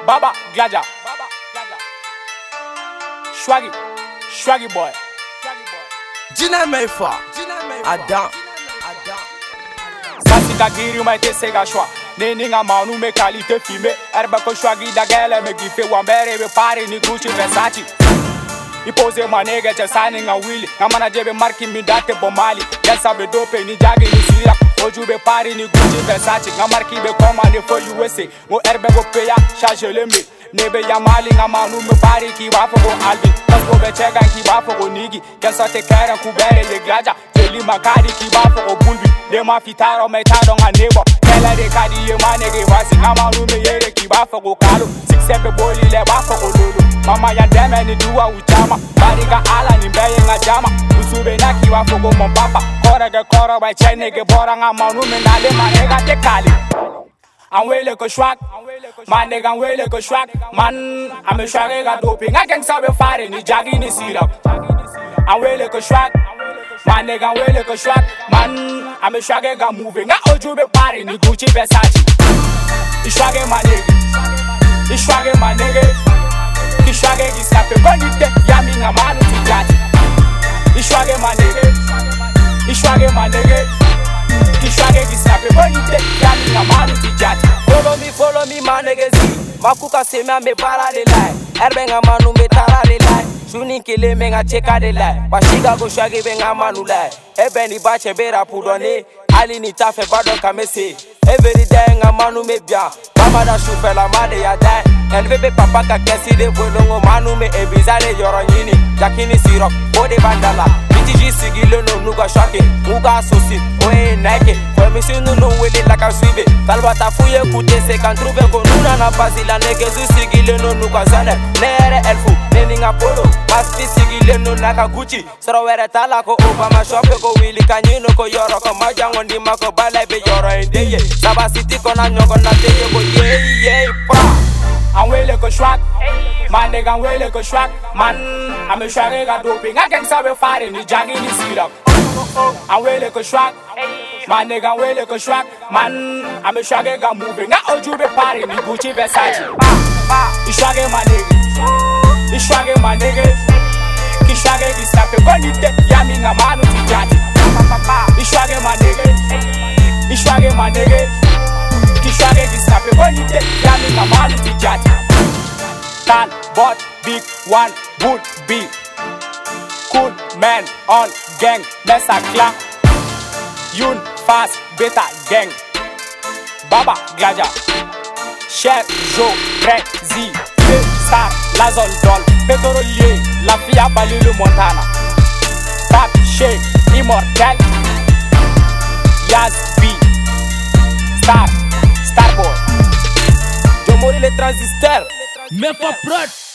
Baba Glaja. Swaggy boy. Jina Meifa. Adam. Sasi kagiri maite sega shwa. Neni nga manu me qualité filmé. Erba ko Swaggy da gele me gife wambere be pare ni Gucci Versace. I pose ma nigga che sani nga Willy. Nga mana jebe marki mi date bomali. Yesa be dope ni jagi ni sira. Oju be pare ni Gucci Versace. Nga marki be commande for USA. Ngo erbe go peya charge le me. Nebe ya mali nga manu me pare ki wafo go Alvin. Kasko be chega ki wafo go Nigi. Kesa te kera kubere ye Glaja. Jeli makari ki wafo go Bulbi. De ma fitaro me tado nga nebo. Kela de kadi ye manege wasi. Nga manu me yere ki wafo go Kalo. Sixepe boli le wafo go Lolo. Mama ya deme ni duwa uchama. Bariga ala ni mbeye nga jama. Usube na ki wafo go mon papa. Kore ge koro by chene ge bora nga manu me nale manega te kali. Anwele ko Swag, man nigga anwele ko Swag. Man, ame Swaggy ga doping. Nga gangsta be fare ni jagi ni sirap. Anwele ko Swag, man nigga anwele ko Swag. Man, ame Swaggy ga moving. Nga oju be pare ni Gucci Versace. I Swaggy my nigga, I Swaggy my nigga. Ki Swaggy gi sape bonite, yami nga manu ti jati. I Swaggy my nigga, I Swaggy my nigga. Ki Swaggy gi sape bonite, yami nga manu ti jati. Follow me, my niggas. Makuka se me ame para de lai. Erbe nga manu me tara de lai. Shuni kile me nga cheka de lai. Washiga go Swaggy be nga manu lai. Ebe ni bache bera pudone. Ali ni tafe bado kamese. Every day nga manu me bia. Mama da shufe la made ya dai. LVB papa ka kesi de volongo manu me ebizale yoro nyini. Jakini sirop, bode bandala. BTG sigilo no nuga shwake. Muga sosi, oe Nike. Kwa misinu no wele laka swibe. Talbata fuye kute se kan trouve ko nuna na basila negezu sigilo no nuga zane. Nere elfu, neninga polo. Basti sigilo no naka Gucci. Soro were tala ko Obama shope ko Willy kanyino ko yoro ko majango ndima ko balai be yoro endeye. Saba city kona nyongo na teye ko ye pa. Anwele ko Swag, man nigga anwele ko Swag. Man, ame Swaggy ga doping. Nga gangsta be fare ni jagi ni sirap. Anwele ko Swag, man nigga anwele ko Swag. Man, ame Swaggy ga moving. Nga oju be pare ni Gucci Versace. I Swaggy my nigga, I Swaggy my nigga. Ki Swaggy gi sape bonite, yami nga manu ti jati. I Swaggy my nigga, I Swaggy my nigga. Ki Swaggy gi sape bonite, yami nga manu ti jati. Tan, bot, big one, would be cool man on gang, Mesa clan. Yun, fast, beta gang. Baba Glaja, Chef, Joe, Crazy, Star, Lazon Doll, Petrolier, La Fia Balilu Montana, Tap, Shake, Immortal, Yaz B, Starboy, Jomori le transistor. Mefa Prod.